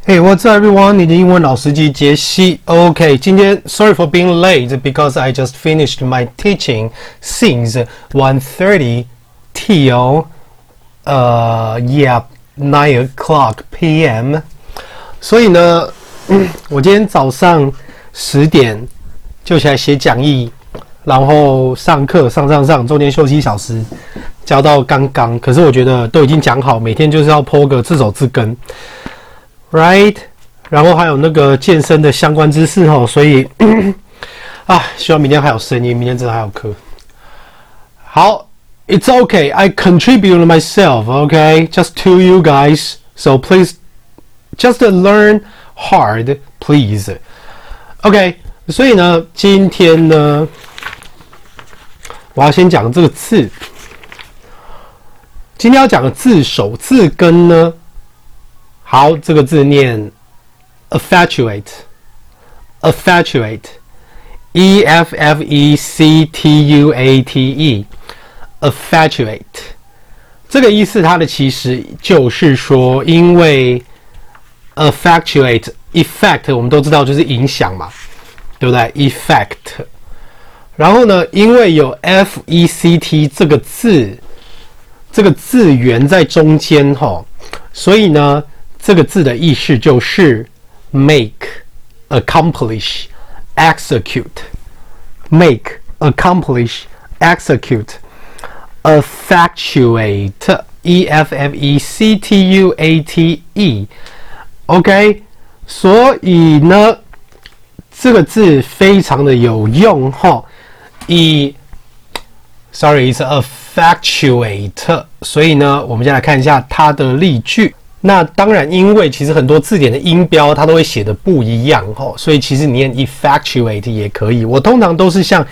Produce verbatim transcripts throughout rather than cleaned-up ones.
Hey, what's up, everyone? 你的英文老司機傑西。OK， 今天 sorry for being late because I just finished my teaching since one thirty till uh yeah nine o'clock p m 所以呢，嗯，我今天早上十點就起來寫講義，然後上課上上上，中間休息一小時，教到剛剛。可是我覺得都已經講好，每天就是要 po 個字首字根。Right， 然後還有那個健身的相關知識齁，所以啊，希望明天還有聲音，明天真的還有課。好 ，It's okay, I contribute myself, okay, just to you guys, so please just learn hard, please. OK， 所以呢，今天呢，我要先講這個字。今天要講的字首字根呢。好，這個字念 infatuate，infatuate，e f f e c t u a t e，infatuate， 這個意思它的其實就是說，因為 infatuate，effect 我們都知道就是影響嘛，對不對 ？effect， 然後呢，因為有 f e c t 這個字，這個字源在中間齁，所以呢。這個字的意思就是 make、accomplish、execute、make、accomplish、execute、affatuate、e f f e c t u a t e。OK， 所以呢，這個字非常的有用齁。以 ，sorry， 是 affatuate。所以呢，我們先來看一下它的例句。那當然，因為其實很多字典的音標它都會寫的不一樣齁，所以其實你念 infatuate 也可以。我通常都是像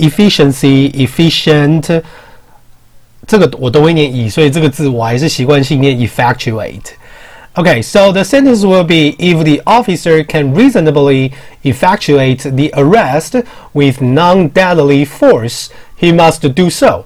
efficiency、efficient 這個我都會念 e， 所以這個字我還是習慣性念 infatuate。Okay, so the sentence will be if the officer can reasonably effectuate the arrest with non-deadly force, he must do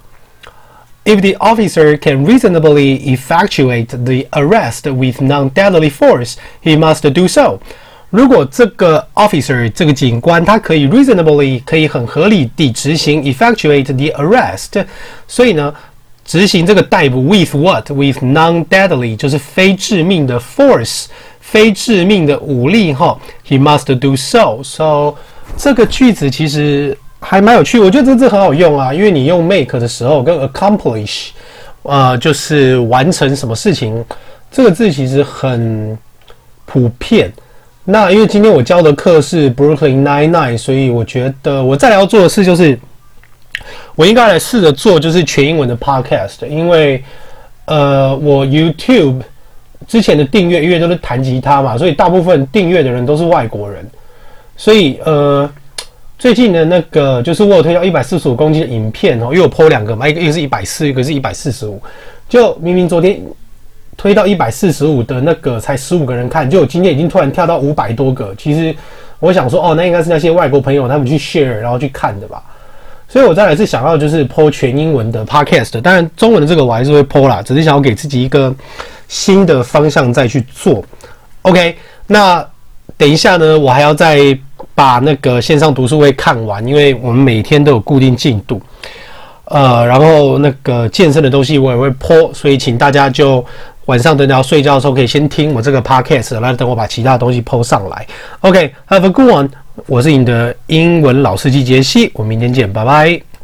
so.If the officer can reasonably effectuate the arrest with non-deadly force, he must do so. 如果這個 officer 這個警官他可以 reasonably 可以很合理地執行 effectuate the arrest， 所以呢，執行這個逮捕 with what? With non-deadly 就是非致命的 force， 非致命的武力齁 ，he must do so. So 這個句子其實。還蠻有趣，我覺得這個字很好用啊，因為你用 make 的時候跟 accomplish， 呃，就是完成什麼事情，這個字其實很普遍。那因為今天我教的課是 Brooklyn Nine-Nine， 所以我覺得我再來要做的事就是，我應該來試着做就是全英文的 podcast， 因為呃，我 YouTube 之前的訂閱因為都是彈吉他嘛，所以大部分訂閱的人都是外國人，所以呃。最近的那個就是我有推到一百四十五公斤的影片哦，因為我 po 兩個嘛，一個一個是一百四，一個是一百四十五。就明明昨天推到一百四十五的那個才十五個人看，就我今天已經突然跳到五百多個。其實我想說，哦，那應該是那些外國朋友他們去 share 然後去看的吧。所以我再來是想要就是 po 全英文的 podcast， 當然中文的這個我還是會 po 啦，只是想要給自己一個新的方向再去做。OK， 那等一下呢，我還要再。把那個線上讀書會看完，因為我們每天都有固定進度，呃，然後那個健身的東西我也會 po， 所以請大家就晚上等到睡覺的時候可以先聽我這個 podcast， 然後等我把其他的東西 po 上來。OK，have a good one， 我是你的英文老司機傑西，我們明天見，拜拜。